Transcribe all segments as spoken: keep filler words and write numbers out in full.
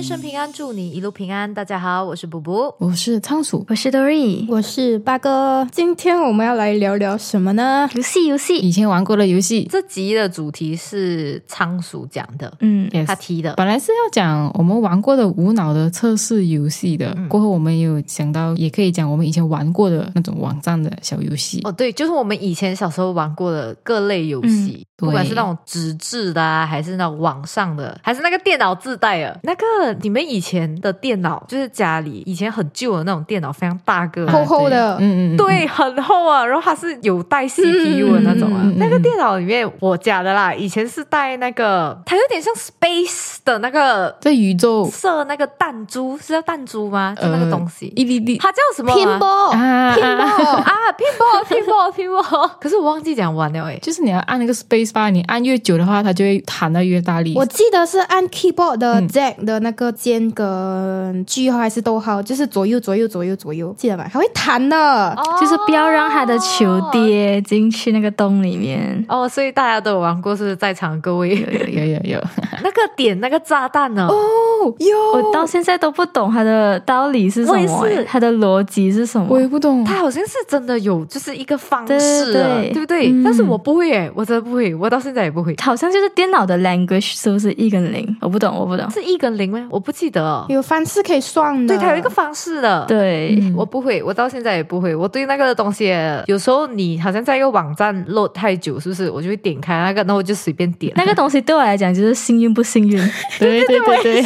生平安，祝你一路平安。大家好，我是布布， 我是仓鼠， 我是 Dory， 我是八哥。今天我们要来聊聊什么呢？ 游戏游戏以前玩过的游戏。 这集的主题是仓鼠讲的， 嗯， yes 他提的。 本来是要讲我们玩过的无脑的测试游戏的、嗯、过后我们也有想到也可以讲我们以前玩过的那种网站的小游戏。 哦，对，就是我们以前小时候玩过的各类游戏、嗯、不管是那种纸质的啊，还是那种网上的，还是那个电脑自带的。那个你们以前的电脑，就是家里以前很旧的那种电脑，非常大个、啊、 厚厚的， 嗯嗯嗯， 对，很厚啊，然后它是有带 C P U 的那种啊、嗯嗯嗯嗯、那个电脑里面我家的啦，以前是带那个，它有点像 Space 的那个在宇宙射那个弹珠，是叫弹珠吗？就那个东西、 呃、一粒粒， 它叫什么、啊、 Pinball 啊 Pinball 啊 Pinball Pinball Pinball 可是我忘记讲完了诶， 就是你要按那个 Space bar， 你按越久的话它就会弹得越大力。 我记得是按 keyboard 的 Z 的那个键跟句号还是逗号，就是左右左右左右左右，记得吗？还会弹的、 哦、就是不要让它的球跌进去那个洞里面哦，所以大家都有玩过，是在场各位有有有有那个点那个炸弹呢？ 哦，有， 我到现在都不懂它的道理是什么、欸，它的逻辑是什么， 我也不懂。 它好像是真的有就是一个方式的， 对, 对, 对不对、嗯？但是我不会耶，我真的不会，我到现在也不会。 好像就是电脑的 language 是不是一跟零？我不懂，我不懂， 是一跟零吗？我不记得、哦， 有方式可以算的， 对，它有一个方式的， 对、 嗯，我不会，我到现在也不会。我对那个东西，有时候你好像在一个网站 load 太久，是不是？我就会点开那个，然后我就随便点那个东西。对我来讲就是幸运不幸运。 对对对对。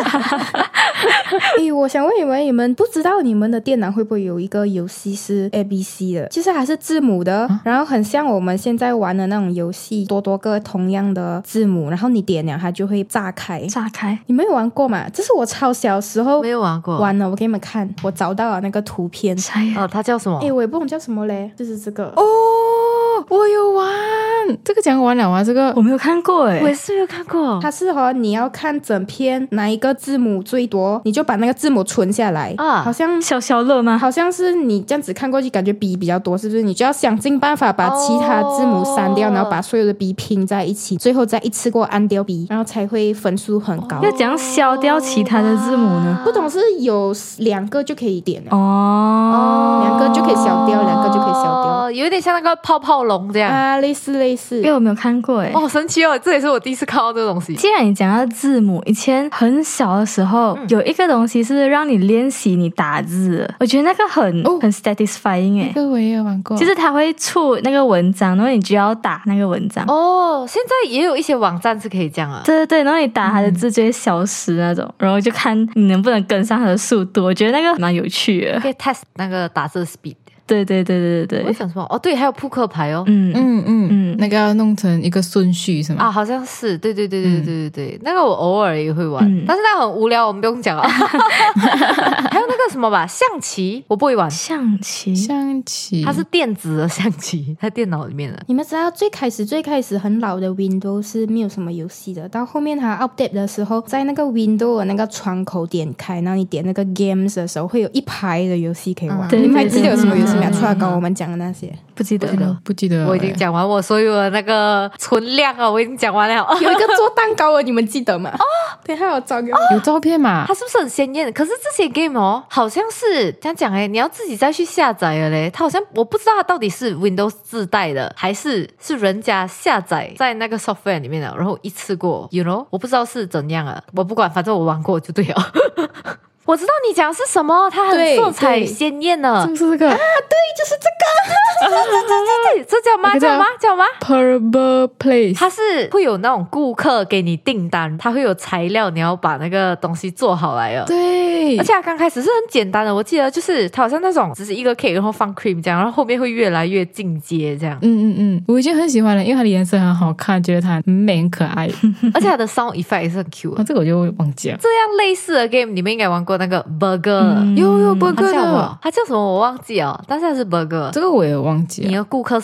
诶，我想问你们，你们不知道你们的电脑会不会有一个游戏是 A B C 的，就是还是字母的、啊、然后很像我们现在玩的那种游戏，多多个同样的字母，然后你点了它就会炸开炸开。 你们有玩过吗？这是我超小时候没有玩过玩了，我给你们看，我找到了那个图片。 哦，它叫什么？ 诶，我也不懂叫什么嘞，就是这个哦，我有玩这个，讲完了啊，这个我没有看过诶， 我也是没有看过。 它是和你要看整篇哪一个字母最多，你就把那个字母存下来啊，好像消消乐吗？ 好像是你这样子看过去感觉 B 比较多，是不是？你就要想尽办法把其他字母删掉、哦、然后把所有的 B 拼在一起，最后再一次过按掉 B， 然后才会分数很高。 要怎样消掉其他的字母呢？ 不懂，是有两个就可以点哦， 两个就可以消掉，两个就可以消掉， 有点像那个泡泡龙这样啊，类似类似。 因为我没有看过诶， 哦，神奇哦，这也是我第一次看到这个东西。 既然你讲到字母，以前很小的时候、嗯、有一个东西是让你练习你打字，我觉得那个很、哦、很 satisfying 诶， 这个我也有玩过， 就是它会出那个文章，然后你就要打那个文章。 哦，现在也有一些网站是可以这样啊。 对对对，然后你打它的字就会消失那种、嗯、然后就看你能不能跟上它的速度，我觉得那个蛮有趣的， 可以 test 那个打字 speed。 对对对对对对， 我想什么？哦，对，还有扑克牌哦。 嗯嗯嗯嗯，那个要弄成一个顺序是吗？ 啊，好像是，对对对对对对对、嗯、那个我偶尔也会玩，嗯、但是那很无聊，我们不用讲啊。还有那个什么吧，象棋，我不会玩。 象棋， 象棋， 它是电子的象棋，在电脑里面的。 你们知道最开始最开始很老的 Windows 是没有什么游戏的，到后面它 update 的时候，在那个 Windows 的那个窗口点开，然后你点那个 Games 的时候，会有一排的游戏可以玩。 嗯、 你们还记得有什么游戏没有？除了刚刚我们讲的那些， 不记得了， 不记得了。 我已经讲完我所有的那个存量了，我已经讲完了。 有一个做蛋糕的，你们记得吗？哦，等一下我找给我、哦、 有照片嘛？ 它是不是很鲜艳？可是这些 game 哦，好像是这样讲诶，你要自己再去下载了嘞。它好像我不知道它到底是 Windows 自带的，还是是人家下载在那个 software 里面的，然后一次过 ，you know， 我不知道是怎样啊。我不管，反正我玩过就对了。我知道你讲的是什么，它很色彩鲜艳的， 是不是这个啊？ 对，就是这个， 对对对对对，这叫吗？叫吗？叫吗 ？Purple Place， 它是会有那种顾客给你订单，它会有材料，你要把那个东西做好来了。 对， 而且它刚开始是很简单的，我记得就是它好像那种只是一个 cake， 然后放 cream 这样，然后后面会越来越进阶这样。 嗯嗯嗯，我已经很喜欢了，因为它的颜色很好看，觉得它很美很可爱， 而且它的 sound effect 也是很 cute 的。 啊，这个我就忘记了。 这样类似的 game 你们应该玩过那个 burger。 嗯、有有 burger 的， 它叫什么我忘记了，但是它是 burger。 这个我也忘记了。 你的顾客是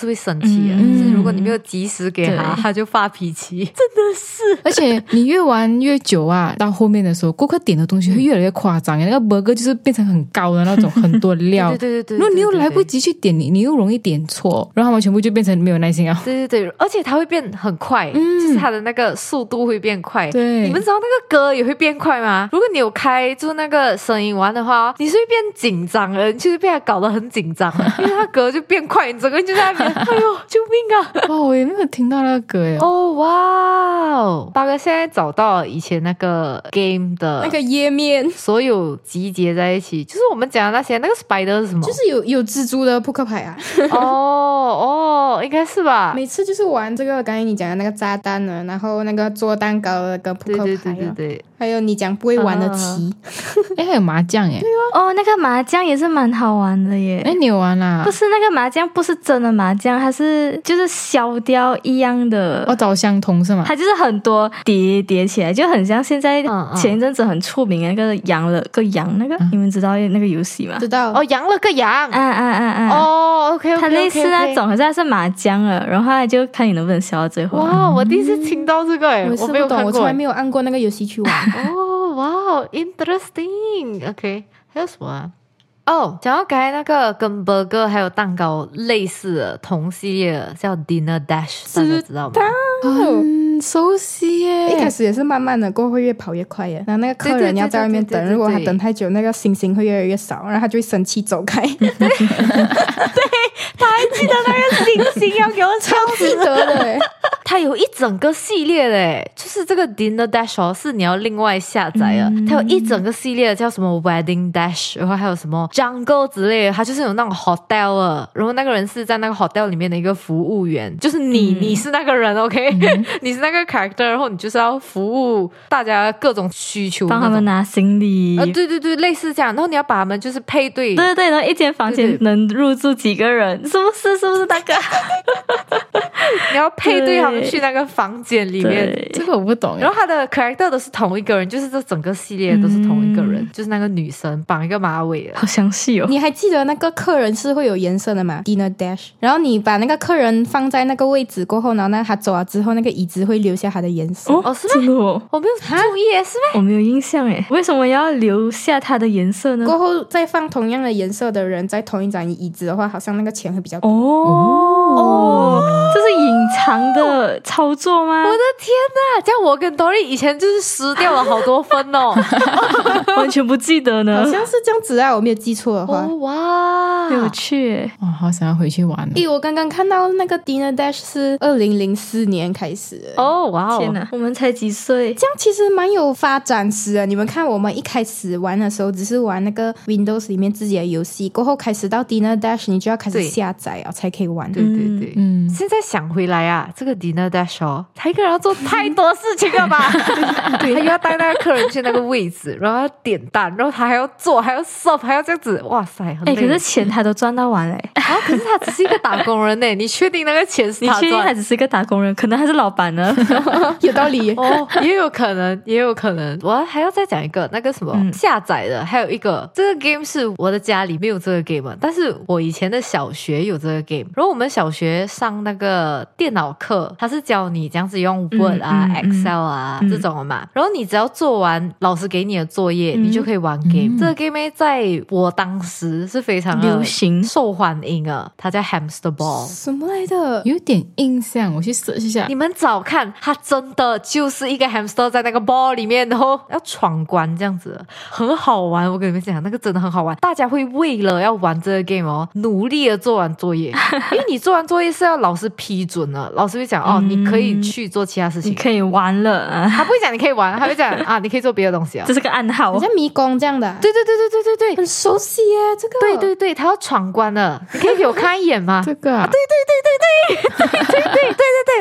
会生气的、嗯、就是如果你没有及时给他他就发脾气，真的是。 而且你越玩越久啊，到后面的时候顾客点的东西会越来越夸张，那个 burger 就是变成很高的那种很多料对对对 对, 对, 对, 对, 对, 对, 对， 如果你又来不及去点，你你又容易点错，然后他们全部就变成没有耐心啊。 对对对，而且它会变很快、嗯、就是它的那个速度会变快。 对， 你们知道那个歌也会变快吗？如果你有开就那个声音玩的话，你是会变紧张的，你就是被它搞得很紧张，因为它歌就变快，你整个人就在那边哎呦救命啊。 哇，我也没有听到那个歌耶。 哦哇哦，八哥现在找到以前那个 game 的那个页面， 所有集结在一起，就是我们讲的那些。那个 spider 是什么？ 就是有有蜘蛛的扑克牌啊。 哦哦，应该是吧。 每次就是玩这个刚才你讲的那个炸弹呢，然后那个做蛋糕的跟扑克牌、啊、 对对对对对， 还有你讲不会玩的棋。 哎、uh, 还有麻将耶。 对哦，那个麻将也是蛮好玩的耶。 哎，你有玩啦？ 不是那个麻将不是真的麻将，它是就是消掉一样的。 哦，找相同是吗？ 它就是很多叠叠起来，就很像现在前一阵子很出名的那个羊了个羊那个、嗯、你们知道那个游戏吗？ 知道。 哦，羊了个羊。 啊啊啊啊！ 哦 ，OK OK， 它类似那种，可是它是麻将了，然后它就看你能不能消到最后。 哇，我第一次听到这个诶、 嗯，我没有看过，我从来没有按过那个游戏去玩。 哦，哇 ，interesting。OK， 还有什么啊？哦，讲到刚才那个跟 burger 还有蛋糕类似的同系列的叫 Dinner Dash， 大家知道吗？ 很熟悉耶。 一开始也是慢慢的，过后会越跑越快耶。然后那个客人要在外面等，如果他等太久，那个星星会越来越少，然后他就会生气走开。对，他还记得那个星星要给我超记得的耶。 它有一整个系列的诶，就是这个 Dinner Dash 哦，是你要另外下载的、嗯、它有一整个系列的叫什么 Wedding Dash， 然后还有什么 Jungle 之类的，它就是有那种 hotel 的，然后那个人是在那个 hotel 里面的一个服务员，就是你、嗯、你是那个人 OK、嗯、你是那个 character， 然后你就是要服务大家各种需求， 帮他们拿行李、 呃、对对对，类似这样，然后你要把他们就是配对， 对对对，然后一间房间能入住几个人，是不是是不是那个你要配对他们去那个房间里面， 这个我不懂。 然后他的 character 都是同一个人，就是这整个系列都是同一个人、嗯、就是那个女生绑一个马尾的， 好详细哦。 你还记得那个客人是会有颜色的吗？ Dinner Dash， 然后你把那个客人放在那个位置过后，然后呢他走了之后，那个椅子会留下他的颜色。 哦，是吗？哦， 我没有注意耶，是吗？ 我没有印象诶，为什么要留下他的颜色呢？ 过后再放同样的颜色的人在同一张椅子的话，好像那个钱会比较多。 哦哦，这是隐藏的操作吗？ 我的天哪，这样我跟 Dory 以前就是失掉了好多分哦。 完全不记得呢， 好像是这样子啊，我没有记错的话。 哦、哇， 有趣。 哇，好想要回去玩。 诶，我刚刚看到那个 Dinner Dash 是二零零四年开始的。 哦，哇哦， 天哪，我们才几岁， 这样其实蛮有发展史的。你们看，我们一开始玩的时候只是玩那个 Windows 里面自己的游戏，过后开始到 Dinner Dash 你就要开始下载啊才可以玩。 对对对，嗯，现在想回来啊，这个 Dinner Dash 哦，他一个人要做太多事情了吧？对，他又要带那个客人去那个位置，然后要点单，然后他还要做，还要 serve， 还要这样子，哇塞，很累。 哎，可是钱他都赚到完嘞。 啊，可是他只是一个打工人呢，你确定那个钱是他赚？ 你确定他只是一个打工人？可能他是老板呢。 有道理哦，也有可能，也有可能。我还要再讲一个那个什么、嗯、下载的，还有一个这个 game 是我的家里没有这个 game， 但是我以前的小学有这个 game。然后我们小学上那个电脑课，他是教你这样子用 Word 啊、嗯嗯、Excel 啊、嗯、这种的嘛。然后你只要做完老师给你的作业，嗯、你就可以玩 game、嗯。这个 game 在我当时是非常流行、 受欢迎啊，它叫 Hamster Ball。 什么来的？ 有点印象，我去 search 一下。 你们找看，它真的就是一个 hamster 在那个 ball 里面，然后要闯关这样子，很好玩。我跟你们讲，那个真的很好玩。大家会为了要玩这个 game 哦，努力的做完作业，因为你做完作业是要老师批准的，老师会讲哦，你可以去做其他事情， 你可以玩了。 他不会讲你可以玩，他会讲啊，你可以做别的东西啊。 这是个暗号， 好像迷宫这样的、啊。 对对对对对对对， 很熟悉耶，这个。 对对对，他要闯关了，你可以给我看一眼吗？ 这个啊， 啊对对对对对对对对对对，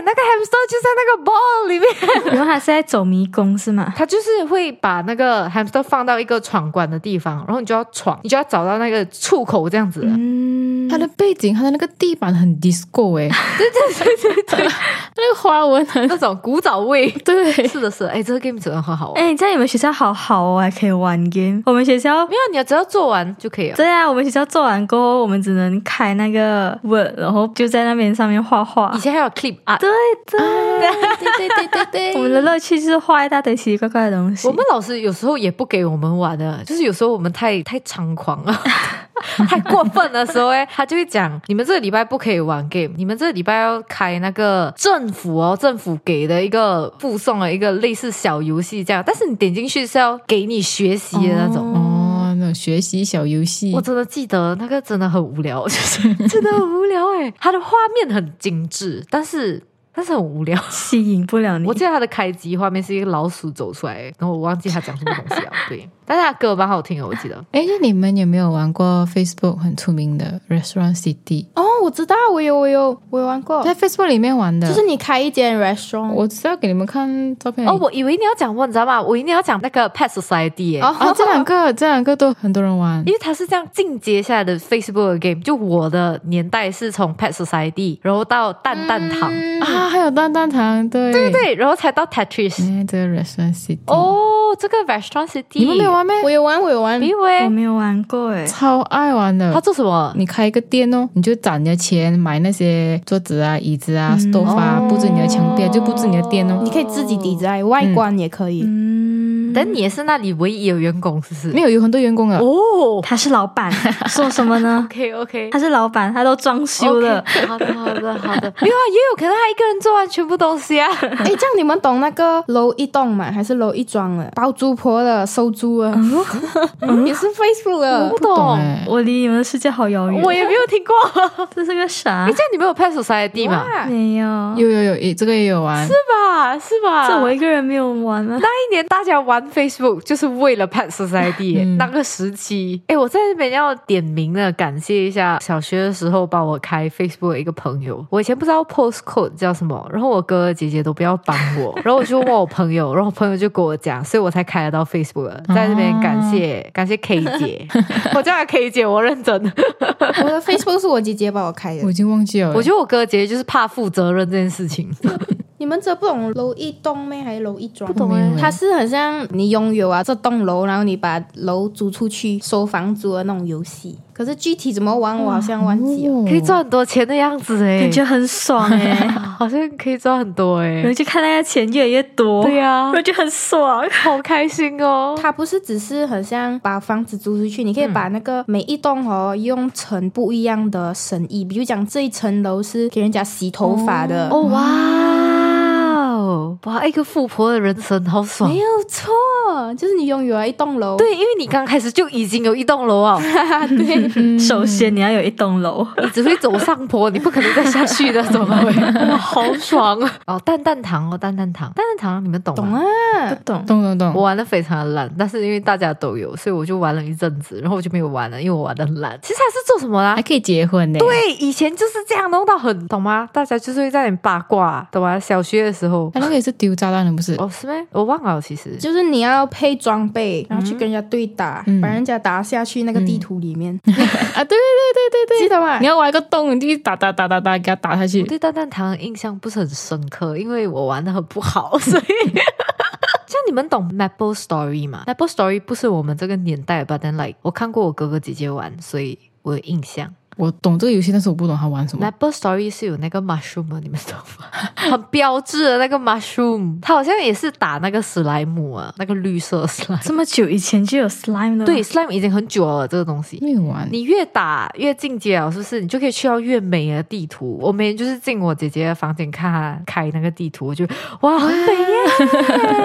那个 hamster 就在那个 ball 里面。 然后他是在走迷宫是吗？ 他就是会把那个 hamster 放到一个闯关的地方，然后你就要闯，你就要找到那个出口这样子的。 嗯， 它的背景，它的那个地板很 disco 哎、欸，对对对对对，那个花纹很那种古早味。 对， 是的是的，哎，这个 game 真的很好玩。 哎，在你们学校好好哦，还可以玩 game。我们学校没有，你要只要做完就可以了。 对啊，我们学校做完过后，我们只能开那个 Word， 然后就在那边上面画画。 以前还有 clip art。 对对、 对对对对对， 我们的乐趣就是画一大堆奇奇怪怪的东西。 我们老师有时候也不给我们玩的，就是有时候我们太太猖狂了。太过分的时候哎，他就会讲你们这个礼拜不可以玩 game， 你们这个礼拜要开那个政府哦，政府给的一个附送的一个类似小游戏这样，但是你点进去是要给你学习的那种。 哦，那种学习小游戏。 我真的记得那个真的很无聊，就是真的很无聊哎。它的画面很精致，但是。但是很无聊， 吸引不了你。 我记得它的开机画面是一个老鼠走出来，然后我忘记它讲什么东西了。对，但是它歌蛮好听的，我记得。 哎，那你们有没有玩过 Facebook 很出名的 Restaurant City？ 哦，我知道，我有我有我有玩过， 在 Facebook 里面玩的， 就是你开一间 restaurant。 我是要给你们看照片。 哦，我以为你要讲我，你知道吗？我以为你要讲那个 Pet Society 耶。 哦，哦这两个这两个都很多人玩， 因为它是这样进阶下来的 Facebook 的 game。就我的年代是从 Pet Society， 然后到蛋蛋堂、 嗯、 啊，还有蛋蛋堂。对对对，然后才到 Tetris。 哎，这个 Restaurant City 哦，这个 Restaurant City 你们没有玩吗？ 我有玩，我有玩。 没有我诶， 没有玩过诶， 超爱玩的。 他做什么？ 你开一个店哦，你就攒你的钱买那些桌子啊、椅子啊、 嗯、 stove 啊，布置你的墙壁啊，就布置你的店哦。 你可以自己 design 外观也可以。 嗯， 但你也是那里唯一有员工，是不是？ 没有，有很多员工啊。 哦， 他是老板，说什么呢 ？OK OK， 他是老板，他都装修了。 Okay, 好的好的好的，没有啊，也有可能他一个人做完全部东西啊。 哎，这样你们懂那个楼一栋吗？还是楼一庄的？包租婆的、收租的，嗯、也是 Facebook 的。 我不懂， 懂欸、 我离你们的世界好遥远， 我也没有听过。 这是个啥？ 哎，这样你们有 Pet Society 吗？ 没有， 有有有，这个也有玩， 是吧？是吧？ 这我一个人没有玩啊。 那一年大家玩 Facebook 就是为了 Pet Society、嗯、那个时期。哎，我在这边要点名的感谢一下小学的时候帮我开 Facebook 的一个朋友。我以前不知道 postcode 叫什么，然后我哥哥姐姐都不要帮我，然后我就问我朋友，然后我朋友就跟我讲，所以我才开得到 Facebook 的。在这边感谢、哦、感谢 K 姐，我叫她 K 姐，我认真。 我的 Facebook 是我姐姐帮我开的， 我已经忘记了。 我觉得我哥哥姐姐就是怕负责任这件事情。 你们这不懂楼一栋咩？还是楼一庄？ 不懂哎， 它是很像你拥有啊这栋楼，然后你把楼租出去收房租的那种游戏。可是具体怎么玩，我好像忘记了。 哦、 可以赚很多钱的样子哎， 感觉很爽哎， 好像可以赚很多哎。 然后就看那个钱越来越多， 对呀、啊， 我就很爽， 好开心哦。 它不是只是很像把房子租出去，你可以把那个每一栋哦用成不一样的生意，比如讲这一层楼是给人家洗头发的。 哦哇。哇，一个富婆的人生好爽， 没有错，就是你拥有了一栋楼。 对，因为你刚开始就已经有一栋楼啊。 对、 嗯，首先你要有一栋楼， 你只会走上坡，你不可能再下去的，怎么会？哇，好爽啊！哦，蛋蛋糖哦，蛋蛋糖，蛋蛋糖，你们懂吗？ 懂啊， 不懂， 懂懂懂。 我玩的非常的烂，但是因为大家都有，所以我就玩了一阵子，然后我就没有玩了，因为我玩的很烂。其实他是做什么啦？ 还可以结婚呢。 对，以前就是这样弄到很，懂吗？大家就是会在那里八卦，懂吗？小学的时候， 他那个也是丢炸弹的，不是？ 哦，是吗？我忘了，其实就是你要配装备，然后去跟人家对打，嗯、把人家打下去那个地图里面。 嗯、啊，对对对对对， 记得吗？ 你要挖一个洞，你就打打打打打，给他打下去。 我对蛋蛋糖印象不是很深刻，因为我玩的很不好，所以。像你们懂 Maple Story 吗 ？Maple Story 不是我们这个年代，but then like 我看过我哥哥姐姐玩，所以我有印象。 我懂这个游戏，但是我不懂他玩什么。 Maple Story 是有那个 mushroom 的，你们懂吗？很标志的那个 mushroom， 它好像也是打那个史莱姆啊，那个绿色 slime。 这么久以前就有 slime 了？ 对 ，slime 已经很久了，这个东西没有玩。 你越打越进阶了，是不是？你就可以去到越美的地图。我每天就是进我姐姐的房间看她开那个地图，我就哇，很美耶！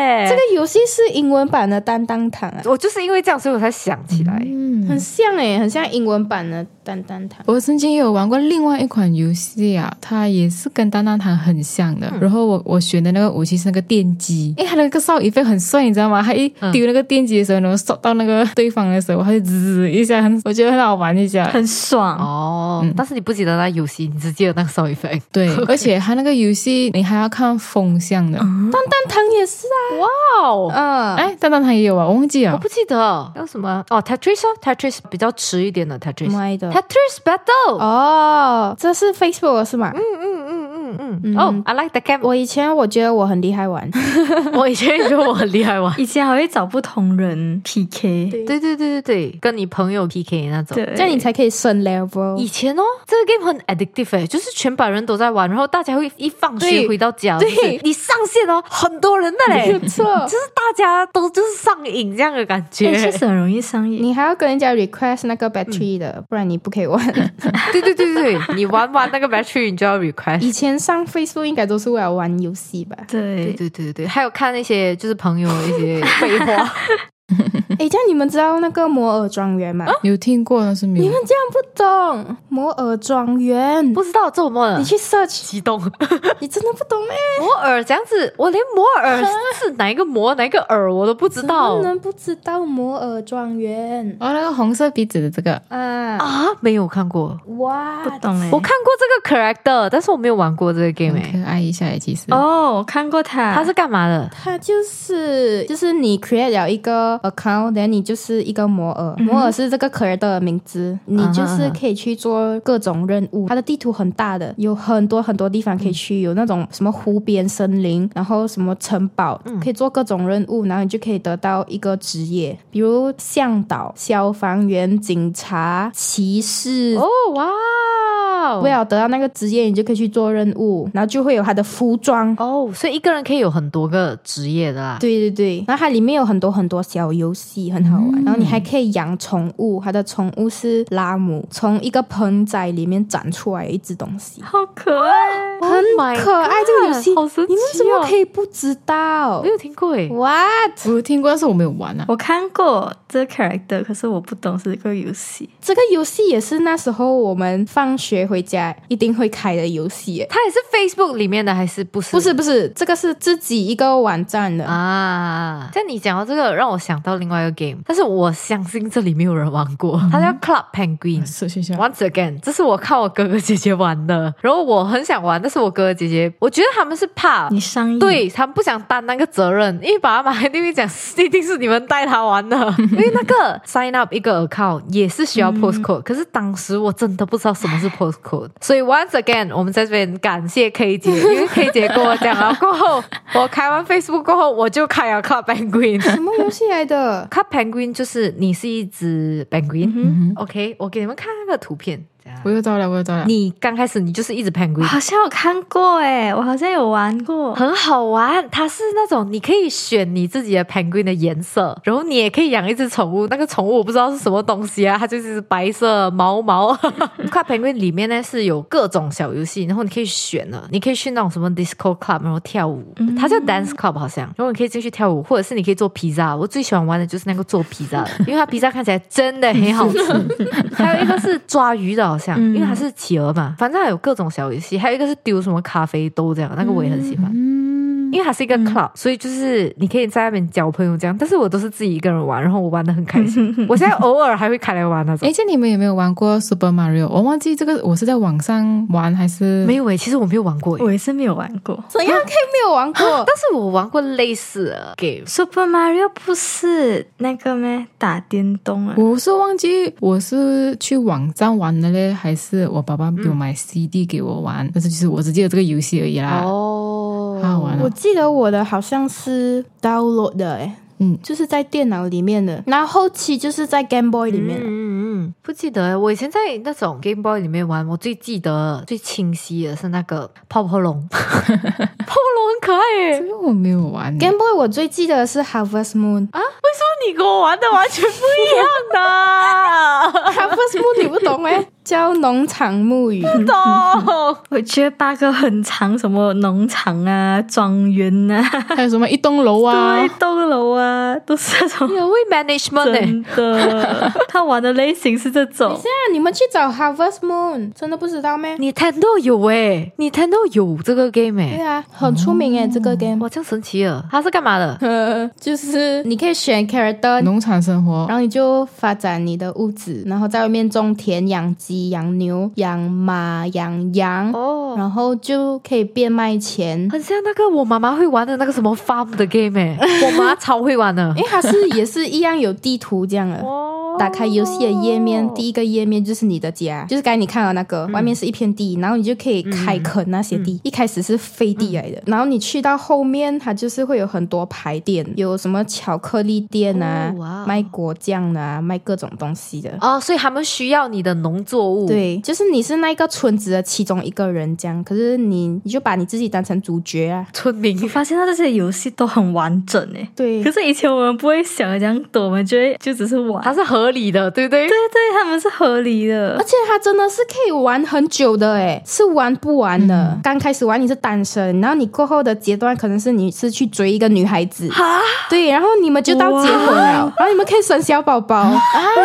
耶。 这个游戏是英文版的蛋蛋糖啊， 我就是因为这样，所以我才想起来。 嗯， 很像诶，很像英文版的蛋蛋糖。 我曾经也有玩过另外一款游戏啊，它也是跟蛋蛋糖很像的。嗯、然后我我选的那个武器是那个电击，诶，它那个扫一飞很帅，你知道吗？它一丢那个电击的时候，然后扫到那个对方的时候，它就滋滋一下，很我觉得很好玩一下， 很爽哦。嗯、但是你不记得那游戏，你只记得那个扫一飞。 对，而且它那个游戏你还要看风向的。 蛋蛋糖也是啊， 哇哦， 嗯， 哎，蛋蛋糖也有啊，我忘记了， 我不记得有什么哦 ，Tetris 哦 ，Tetris 比较迟一点的 Tetris，Tetris Battle 哦，这是 Facebook 的是吗？ 嗯嗯嗯嗯嗯嗯，哦、oh, ，I like the game。 我以前我觉得我很厉害玩， 我以前也觉得我很厉害玩， 以前还会找不同人 P K， 对对对对对，跟你朋友 P K 那种， 这样你才可以升 level。 以前哦，这个 game 很 addictive 诶，就是全班人都在玩，然后大家会一放学回到家，对，就是你上线哦，很多人的嘞， 没错， 就是大家都就是上瘾这样的感觉， 确实很容易上瘾。 你还要跟人家 request 那个 battery 的，嗯、不然你不可以玩。 对对对对，你玩完那个 battery 你就要 request。 以前上 Facebook 应该都是为了玩游戏吧？ 对对对对对，还有看那些就是朋友的一些废话。 哎，这样你们知道那个摩尔庄园吗？ 有听过，但是没有。 你们这样不懂摩尔庄园， 不知道这么你去 search， 激动， 你真的不懂咩？ 摩尔这样子，我连摩尔是哪一个摩哪一个耳我都不知道。 怎么能不知道摩尔庄园？ 哦，那个红色鼻子的这个啊啊，没有看过， 哇， 不懂哎。 我看过这个 character， 但是我没有玩过这个 game 哎，可爱一下哎，其实。 哦，我看过它， 它是干嘛的？ 它就是就是你 create 了一个 account， 然后你就是一个摩尔，嗯、摩尔是这个 character 的名字，你就是可以去做各种任务。它的地图很大的，有很多很多地方可以去，有那种什么湖边森林，然后什么城堡，嗯、可以做各种任务，然后你就可以得到一个职业，比如向导、消防员、警察、骑士。 哦哇！ 为了得到那个职业，你就可以去做任务，然后就会有他的服装哦，所以一个人可以有很多个职业的啦。 对对对，然后它里面有很多很多小游戏，很好玩。嗯、然后你还可以养宠物，它的宠物是拉姆，从一个盆栽里面长出来一只东西， 好可爱， 很可爱。 Oh、 这个游戏好神奇、哦， 你们怎么可以不知道？ 没有听过诶 ？What？ 我有听过，但是我没有玩啊。 我看过这个 character， 可是我不懂是这个游戏。 这个游戏也是那时候我们放学回家一定会开的游戏。 它也是 Facebook 里面的还是不是？ 不是不是，这个是自己一个网站的啊。像你讲到这个，让我想到另外一个 game， 但是我相信这里没有人玩过，嗯、它叫 Club Penguin。Once again， 这是我看我哥哥姐姐玩的，然后我很想玩，但是我哥哥姐姐，我觉得他们是怕你上瘾， 对他们不想担那个责任，因为爸爸妈妈一定会讲，一定是你们带他玩的，因为那个 sign up 一个 account 也是需要 postcode，、嗯、可是当时我真的不知道什么是 postcode， 所以 once again 我们在这边感谢 K 姐，因为 K 姐跟我讲了过后，我开完 Facebook 过后，我就开了 Club Penguin。 什么游戏来的？ Club Penguin 就是你是一只 penguin，、嗯、OK， 我给你们看那个图片。 我又到了，我又到了。 你刚开始你就是一直 penguin， 好像有看过诶，我好像有玩过， 很好玩。它是那种你可以选你自己的 penguin 的颜色，然后你也可以养一只宠物。那个宠物我不知道是什么东西啊，它就是白色毛毛。Club Penguin 里面呢是有各种小游戏，然后你可以选了，你可以去那种什么 disco club， 然后跳舞，嗯、它叫 dance club 好像，然后你可以进去跳舞，或者是你可以做披萨。我最喜欢玩的就是那个做披萨的，因为它披萨看起来真的很好吃。还有一个是抓鱼的，好像，嗯、因为它是企鹅嘛，反正还有各种小游戏，还有一个是丢什么咖啡豆这样，那个我也很喜欢。嗯，因为它是一个 club，、嗯、所以就是你可以在那边交朋友这样。但是我都是自己一个人玩，然后我玩得很开心。我现在偶尔还会开来玩那种。 哎，这你们有没有玩过 Super Mario？ 我忘记这个我是在网上玩还是没有诶，其实我没有玩过， 我也是没有玩过。 怎样可以没有玩过？ 但是我玩过类似的 game。 Super Mario 不是那个咩？打电动啊？ 我是忘记我是去网站玩的嘞，还是我爸爸给我买 C D 给我玩，嗯、但是就是我只记得这个游戏而已啦。 哦， 好好玩啊！ 我记得我的好像是 download 的诶，嗯，就是在电脑里面的，然后后期就是在 Game Boy 里面的。 嗯嗯嗯，不记得。我以前在那种 Game Boy 里面玩，我最记得最清晰的是那个泡泡龙，泡泡龙很可爱耶。 这个我没有玩。 Game Boy 我最记得的是 Harvest Moon 啊，为什么你跟我玩的完全不一样的？ Harvest Moon 你不懂诶，叫农场木鱼。 不懂。 我觉得八个很长，什么农场啊、庄园啊， 还有什么一栋楼啊， 对，一栋楼啊，都是这种。 你很会 management 欸真的，他玩的类型是这种。 现在你们去找 Harvest Moon， 真的不知道咩？ Nintendo 有诶，Nintendo 有这个 game 诶。 对啊，很出名诶，这个 game。 哇，这样神奇啊！它是干嘛的？ 呃，就是你可以选 character， 农场生活然，后你就发展你的屋子，然后在外面种田、养鸡、养牛、养马、养羊， 哦， 然后就可以变卖钱。 很像那个我妈妈会玩的那个什么 farm 的 game 诶，我妈超会玩的因。为它是也是一样有地图这样的。 哦打开游戏的页面，第一个页面就是你的家，就是刚才你看到那个、 嗯外面是一片地，然后你就可以开垦那些地。一开始是废地来的， 嗯然后你去到后面，它就是会有很多牌店，有什么巧克力店啊， 哦哇卖果酱的啊，卖各种东西的。 哦，所以他们需要你的农作物。， 对，就是你是那个村子的其中一个人，这样。可是你你就把你自己当成主角啊。 村民我发现他这些游戏都很完整诶。 对可，是以前我们不会想的这样多，我们觉得就只是玩。 它是合理的，对不对？ 对对，他们是合理的而。且它真的是可以玩很久的诶，是玩不完的。刚开始玩你是单身，然后你过后的阶段可能是你是去追一个女孩子， 哈， 对，然后你们就到结婚了，然后你们可以生小宝宝啊，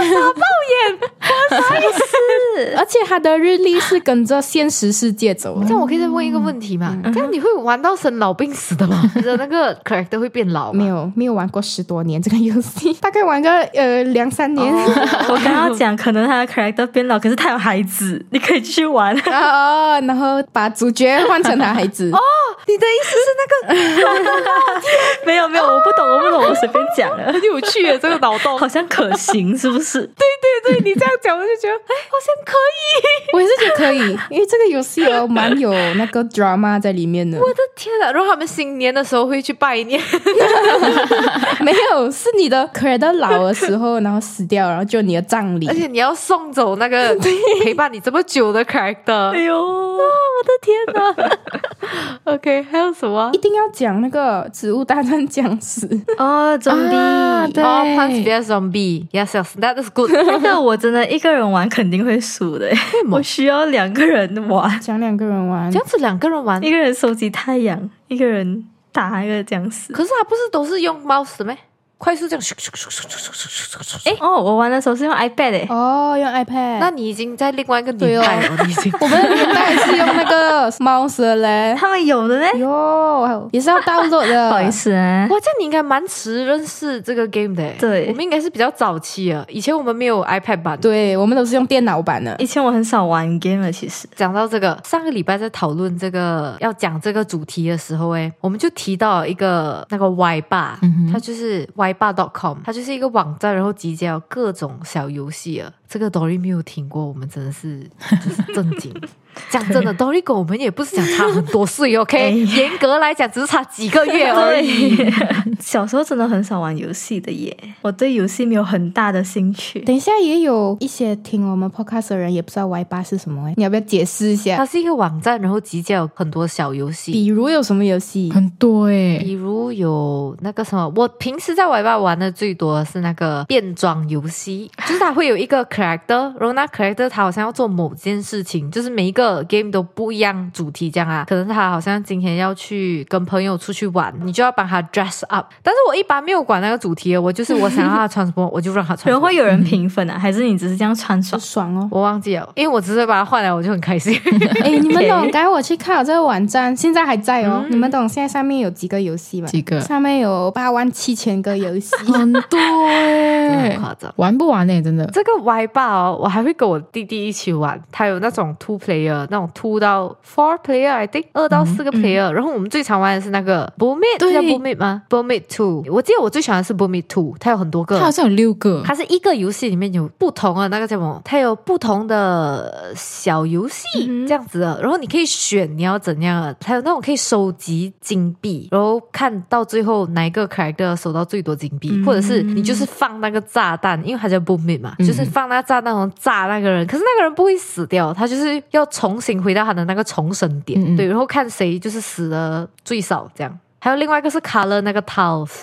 是，而且它的日历是跟着现实世界走的这。样我可以再问一个问题吗？这样你会玩到生老病死的吗？你的那个 character 会变老吗？ 没有没有玩过十多年这个游戏，大概玩个呃两三年。 我刚刚讲，可能他的 character 变老，可是他有孩子，你可以继续玩。 哦，然后把主角换成他孩子。哦， 你的意思是那个没有没有，我不懂，我不懂，我随便讲了。 很有趣耶，这个脑洞。 好像可行，是不是？ 对对，你这样讲我就觉得，哎，好像可以。 我也是觉得可以，因为这个游戏哦蛮有那个 drama 在里面的。 我的天啊！然后他们新年的时候会去拜年， 没有，是你的 character 老的时候，然后死掉，然后就你的葬礼而。且你要送走那个陪伴你这么久的 character。 哎呦， 我的天哪！OK，还有什么一？定要讲那个植物大战僵尸。 哦，zombie，、 啊对哦 Plants vs Zombie，yes yes，that is good。 那个我真的一个人玩肯定会输的，我需要两个人玩， 讲两个人玩这，样子两个人玩， 一个人收集太阳，一个人打那个僵尸。 可是他不是都是用 mouse 的咩？快速这样咻咻咻咻咻咻咻咻咻。 哎哦，我玩的时候是用 iPad 诶。 哦，用 iPad。 那你已经在另外一个年代了，你已经。 我们的年代是用那个 mouse 的嘞。 他们有的呢， 哟，也是要 download 的。 不好意思啊。 哇，这样你应该蛮迟认识这个 game 的诶。 对我们应该是比较早期啊。以前我们没有 iPad 版。 对，我们都是用电脑版的。 以前我很少玩 game 的，其实。 讲到这个，上个礼拜在讨论这个要讲这个主题的时候，诶，我们就提到一个那个 Y 霸，它就是 Y 霸 dot com， 它就是一个网站，然后集结了各种小游戏啊。这个 Dory 没有听过，我们真的是就是震惊。讲真的，Dory 跟我们也不是讲差很多岁，OK？严格来讲，只是差几个月而已。 对，小时候真的很少玩游戏的耶，我对游戏没有很大的兴趣。 等一下也有一些听我们 podcast 的人也不知道 Y 八是什么，你要不要解释一下？ 它是一个网站，然后集结了很多小游戏。 比如有什么游戏？ 很多诶、 比如有那个什么，我平时在 Y 吧玩的最多的是那个变装游戏，就是它会有一个 character，然后那 character 它好像要做某件事情，就是每一个 game 都不一样主题这样啊。可能他好像今天要去跟朋友出去玩，你就要帮他 dress up。但是我一般没有管那个主题的，我就是我想让他穿什么，我就让他穿什么。 然后会有人评分啊，还是你只是这样穿爽？ 爽哦！ 我忘记了，因为我只是把它换来，我就很开心。 哎，你们懂？刚才我去看了这个网站，现在还在哦。你们懂现在上面有几个游戏吗？ 几个上面有八万七千个游戏。 很多诶、 真的很夸张。 玩不完诶、真的。 这个 Y 霸哦，我还会跟我弟弟一起玩。他有那种 two player， 那种 two 到 four player，I think 二到四个 player、嗯。然后我们最常玩的是那个 Boomit， 对叫 Boomit 吗 ？Boomit Two， 我记得我最喜欢的是 Boomit Two， 它有很多个， 它好像有六个。 它是一个游戏里面有不同的那个叫什么？它有不同的小游戏、嗯、这样子的，然后你可以选你要怎样的，还有那种可以收集金币，然后看到最后哪一个 character 收到最多金币、嗯，或者是你就是放那个炸弹，因为它叫 Boomit 嘛、嗯，就是放那个炸弹然后炸那个人，可是那个人不会死掉，他就是要重新回到他的那个重生点，嗯嗯对，然后看谁就是死的最少这样。还有另外一个是 color 那个 tiles。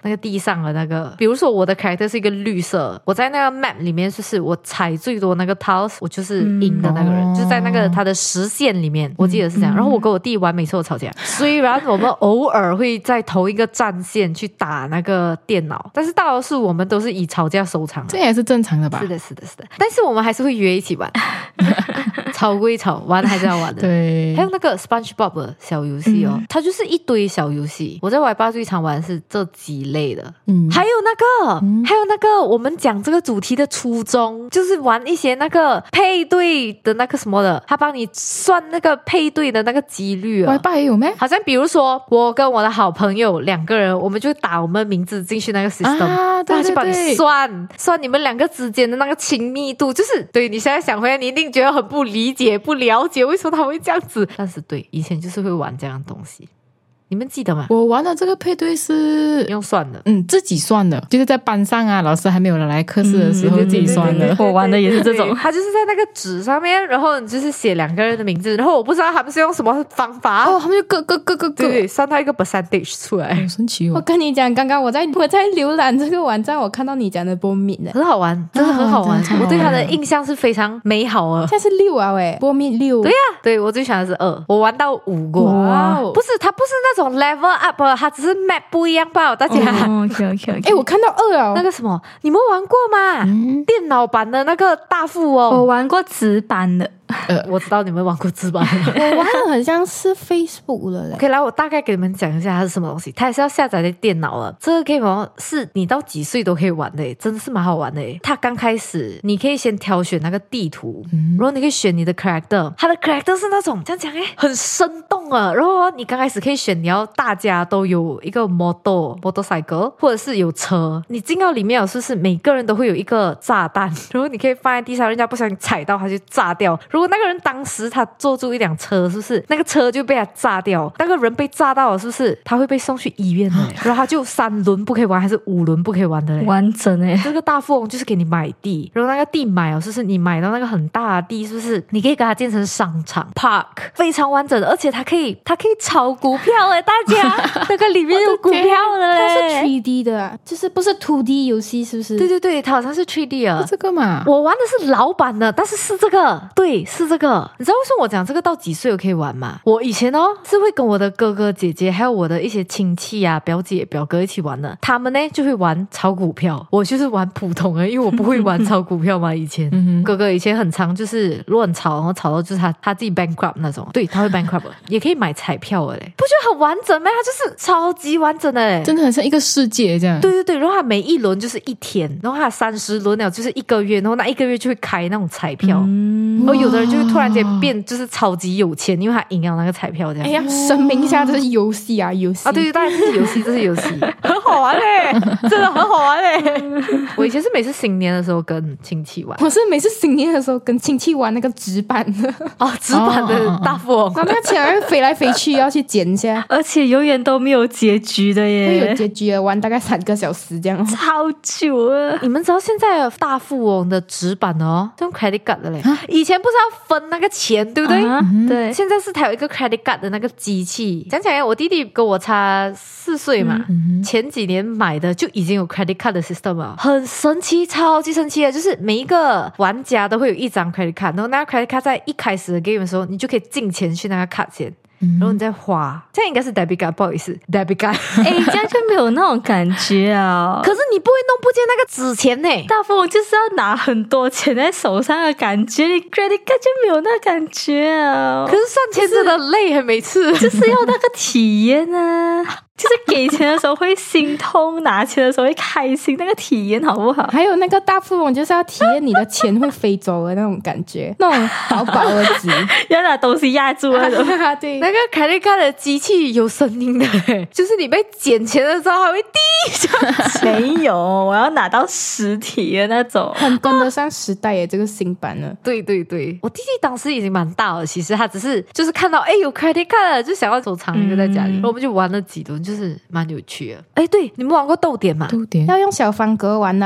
那个地上的那个，比如说我的 character 是一个绿色，我在那个 map 里面就是我踩最多那个 tiles， 我就是赢的那个人，嗯、就是在那个他的实线里面，我记得是这样。嗯、然后我跟我弟玩，每次都吵架。虽然我们偶尔会在同一个战线去打那个电脑，但是大多数我们都是以吵架收场。 这也是正常的吧？ 是的，是的，是的。但是我们还是会约一起玩，吵归吵，玩还是要玩的。 对， 还有那个 SpongeBob 的小游戏哦，嗯、它就是一堆小游戏。我在 Y 八最常玩的是这几类的，嗯，还有那个，嗯、还有那个，我们讲这个主题的初衷就是玩一些那个配对的那个什么的，他帮你算那个配对的那个几率啊。 Y 八也有咩？ 好像比如说我跟我的好朋友两个人，我们就打我们名字进去那个 system， 啊，对对对， 他就帮你算算你们两个之间的那个亲密度，就是对你现在想回来，你一定觉得很不理解、不了解为什么他会这样子，但是对，以前就是会玩这样的东西。你们记得吗？ 我玩的这个配对是用算的， 嗯，自己算的，就是在班上啊，老师还没有来课室的时候、嗯、自己算的。 对对对对对，我玩的也是这种， 他就是在那个纸上面，然后你就是写两个人的名字，然后我不知道他们是用什么方法， 哦，他们就各各各各各， 对，算到一个 percentage 出来， 好神奇哦！ 我跟你讲，刚刚我在我在浏览这个网站，我看到你讲的波米的， 很好玩，真的很好玩，啊、我对他的印象是非常美好啊。 现在是六啊喂，波米六， 对呀、啊，对我最喜欢的是二，我玩到五过，哇，不是，它不是那种 level up。它只是 map 不一样吧，大家。 哦 OK OK OK。 哎，我看到二哦， 那个什么，你们玩过吗？嗯、电脑版的那个大富翁， 我玩过纸版的。 呃，我知道你们玩过纸版的， 我玩的很像是 Facebook 的嘞。 可以来，我大概给你们讲一下它是什么东西。它也是要下载在电脑了。这个 game 是你到几岁都可以玩的，真的是蛮好玩的。它刚开始你可以先挑选那个地图，嗯、然后你可以选你的 character， 它的 character 是那种这样讲哎，很生动啊。然后你刚开始可以选你要大家都有一个 motor motorcycle， 或者是有车。你进到里面有是不是每个人都会有一个炸弹，然后你可以放在地上，人家不小心踩到它就炸掉。如果那个人当时他坐住一辆车，是不是那个车就被他炸掉？那个人被炸到了，是不是他会被送去医院的？然后他就三轮不可以玩，还是五轮不可以玩的嘞？ 完整诶！ 这个大富翁就是给你买地，然后那个地买哦，是不是你买到那个很大的地，是不是你可以给它建成商场 park， 非常完整的，而且它可以它可以炒股票诶，大家那个里面有股票的嘞， 它是 三 D 的、啊，就是不是 二 D 游戏，是不是？ 对对对，它好像是 三 D 啊， 是这个嘛？ 我玩的是老版的，但是是这个，对，是这个。你知道为什么我讲这个到几岁我可以玩吗？我以前哦是会跟我的哥哥姐姐还有我的一些亲戚啊表姐表哥一起玩的，他们呢就会玩炒股票，我就是玩普通的，因为我不会玩炒股票嘛。以前哥哥以前很常就是乱炒，然后炒到就是他他自己 bankrupt 那种，对，他会 bankrupt 也可以买彩票的嘞，不觉得很完整吗？他就是超级完整的嘞， 真的很像一个世界这样。 对对对，然后他每一轮就是一天，然后他三十轮了就是一个月，然后那一个月就会开那种彩票，嗯、然后有的人就会突然间变就是超级有钱，因为他赢了那个彩票这样。 哎呀，声明一下，这是游戏啊，游戏啊，对对，当然是游戏，这是游戏，很好玩嘞，真的很好玩嘞。我以前是每次新年的时候跟亲戚玩， 我是每次新年的时候跟亲戚玩那个纸板的哦，纸板的大富翁， 然后那个钱还会飞来飞去，要去捡一下， 而且永远都没有结局的耶， 会有结局的，玩大概三个小时这样， 超久啊！ 你们知道现在大富翁的纸板哦，用 credit card 的嘞，以前不是要分那个钱，对不对？ 啊、对， 现在是它有一个 credit card 的那个机器。讲起来，我弟弟跟我差四岁嘛，嗯、前几年买的就已经有 credit card 的 system 了，很神奇，超级神奇的，就是每一个玩家都会有一张 credit card， 然后那个 credit card 在一开始的 game 的时候，你就可以进钱去那个 card 先。然后你再花，这样应该是 debit card， 不好意思 debit card。 哎，这样就没有那种感觉啊。 可是你不会弄不见那个纸钱呢？ 大富翁就是要拿很多钱在手上的感觉，你 credit card 就没有那感觉啊。 可是算钱真的累，每次就是要那个体验啊。就是给钱的时候会心痛，拿钱的时候会开心，那个体验好不好？ 还有那个大富翁就是要体验你的钱会飞走的那种感觉，那种薄薄的纸， 要拿东西压住那种。 对， 那个凯利卡的机器有声音的，就是你被捡钱的时候还会滴。 没有，我要拿到实体的那种， 很跟得上时代耶，这个新版了。 对对对，我弟弟当时已经蛮大了，其实他只是就是看到哎有 credit card 了，就想要收藏一个在家里，然后我们就玩了几轮。就是蛮有趣的。哎，对，你们玩过豆点吗？ 豆点要用小方格玩的。 对对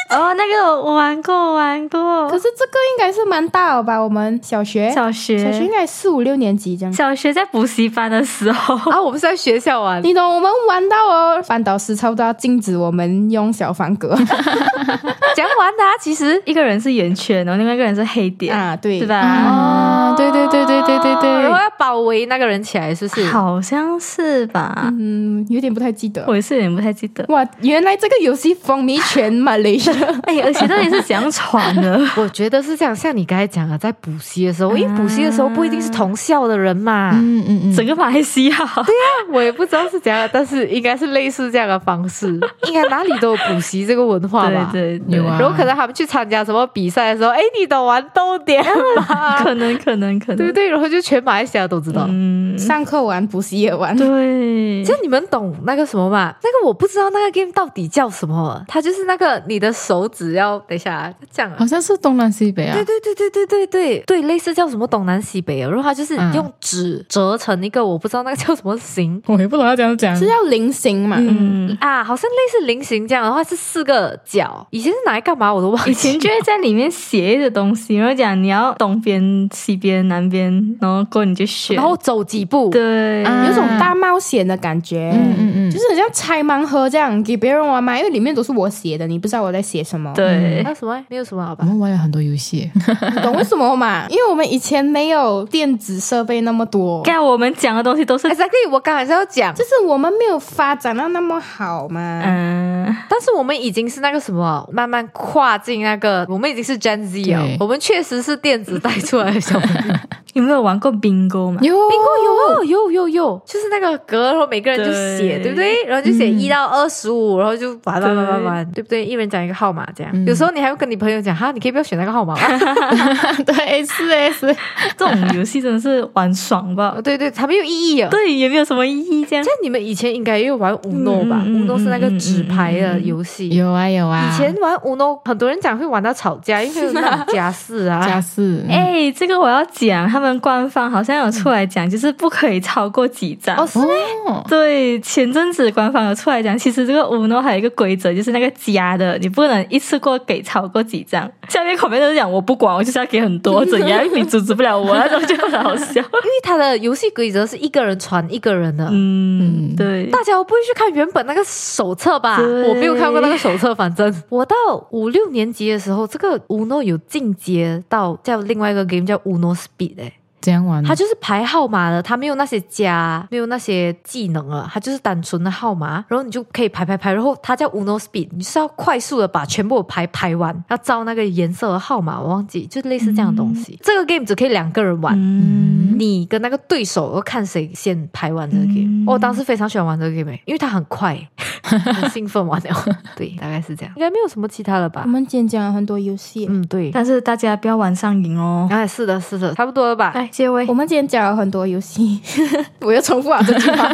哦，那个我玩过，我玩过。 可是这个应该是蛮大了吧？我们小学， 小学， 小学应该四五六年级这样。 小学在补习班的时候啊，我们是在学校玩。 你懂，我们玩到哦，班导师差不多要禁止我们用小方格。 怎样玩的啊？其实一个人是圆圈，然后另外一个人是黑点啊，对， 对吧？ 啊，对对对对对对对， 然后要包围那个人起来，是不是？ 好像是吧？ 嗯，有点不太记得。 我也是有点不太记得。 哇，原来这个游戏风靡全马来西亚。 哎，而且到底是怎样传的？ 我觉得是这样，像你刚才讲的，在补习的时候，因为补习的时候不一定是同校的人嘛， 嗯嗯嗯， 整个马来西亚， 对啊，我也不知道是怎样，但是应该是类似这样的方式，应该哪里都有补习这个文化吧？ 对对对， 有啊。 然后可能他们去参加什么比赛的时候，哎，你懂玩逗点吗？ 可能可能可能， 对不对？然后就全马来西亚都知道。 嗯， 上课玩，补习也玩。 对， 就你们懂那个什么嘛？那个我不知道那个 game 到底叫什么，它就是那个你的手指要等一下啊这样啊。 好像是东南西北啊。 对对对对对对对对，类似叫什么东南西北啊，然后它就是用纸折成一个，我不知道那个叫什么形， 我也不懂要怎样讲， 是要菱形嘛？ 嗯啊，好像类似菱形这样的话是四个角，以前是拿来干嘛我都忘记。 以前就会在里面写一些东西，然后讲你要东边、西边、南边，然后过后你就选， 然后走几步， 对， 啊有种大冒险的感觉。 嗯嗯嗯， 就是很像拆盲盒这样给别人玩嘛，因为里面都是我写的，你不知道我在写什么。 对还有什么？没有什么好我吧？ 们玩了很多游戏。 你懂为什么吗？因为我们以前没有电子设备那么多， 看我们讲的东西都是， Exactly， 我刚才是要讲， 就是我们没有发展到那么好嘛。 嗯， 但是我们已经是那个什么，慢慢跨进那个，我们已经是 Gen Z 了对， 我们确实是电子带出来的小朋友。 有没有玩过 bingo 嘛？ 有 bingo 有啊，有有有，就是那个格，然后每个人就写， 对对不对？然后就写一到二十五，然后就玩玩玩玩玩，对不对？一人讲一个号码，这样。 嗯有时候你还会跟你朋友讲，哈，你可以不要选那个号码吗？ 对，是诶是。 这种游戏真的是玩爽吧哦？对对，它没有意义啊。 对，也没有什么意义这样像。你们以前应该也有玩 Uno 吧嗯嗯嗯 ？Uno 是那个纸牌的游戏。 有啊有啊， 以前玩 Uno，很多人讲会玩到吵架，因为有那种家事啊。 家事， 哎，这个我要讲，他们官方好像有出来讲，就是不可以超过几张。 哦，是吗？ 哦， 对，前阵子官方有出来讲，其实这个 Uno 还有一个规则，就是那个加的，你不能一次过给超过几张。下面口面都是讲我不管，我就是要给很多，怎样你阻止不了我，那种就很好笑。 因为它的游戏规则是一个人传一个人的。 嗯，对， 大家不会去看原本那个手册吧？ 对我没有看过那个手册，反正我到五六年级的时候，这个 Uno 有进阶到叫另外一个 game 叫 Uno Speed 哎、 这样玩， 它就是排号码的，它没有那些加，没有那些技能了，它就是单纯的号码，然后你就可以排排排，然后它叫 Uno Speed，你就是要快速的把全部的牌排完，要照那个颜色的号码，我忘记，就类似这样的东西。这个 game 只可以两个人玩。 嗯， 你跟那个对手要看谁先排完这个 game、 嗯我当时非常喜欢玩这个 game，、因为它很快，很兴奋玩了。对，大概是这样，应该没有什么其他的吧我。们今天讲了很多游戏， 嗯，对。 但是大家不要玩上瘾哦。 哎，是的，是的，差不多了吧？ 来，结尾我。们今天讲了很多游戏，我又重复了这句话。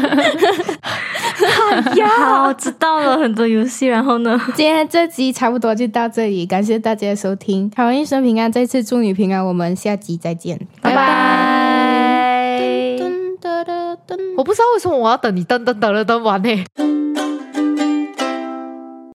好，知道了很多游戏，然后呢？ 今天这集差不多就到这里，感谢大家的收听，好人一生平安，再次祝你平安，我们下集再见， 拜拜。 噔噔噔噔我不知道为什么我要等你噔噔噔了噔完呢。